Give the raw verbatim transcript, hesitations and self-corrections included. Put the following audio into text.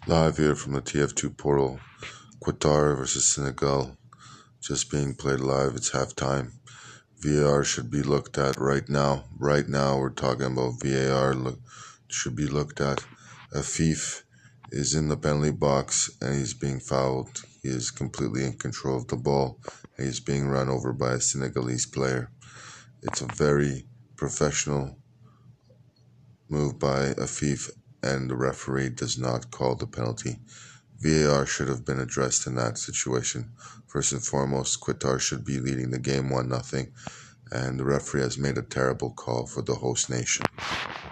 Live here from the T F two portal. Qatar versus Senegal. Just being played live. It's halftime. V A R should be looked at right now. Right now, we're talking about V A R. Look, should be looked at. Afif is in the penalty box and he's being fouled. He is completely in control of the ball and he's being run over by a Senegalese player. It's a very professional move by Afif, and the referee does not call the penalty. V A R should have been addressed in that situation. First and foremost, Qatar should be leading the game one nothing, and the referee has made a terrible call for the host nation.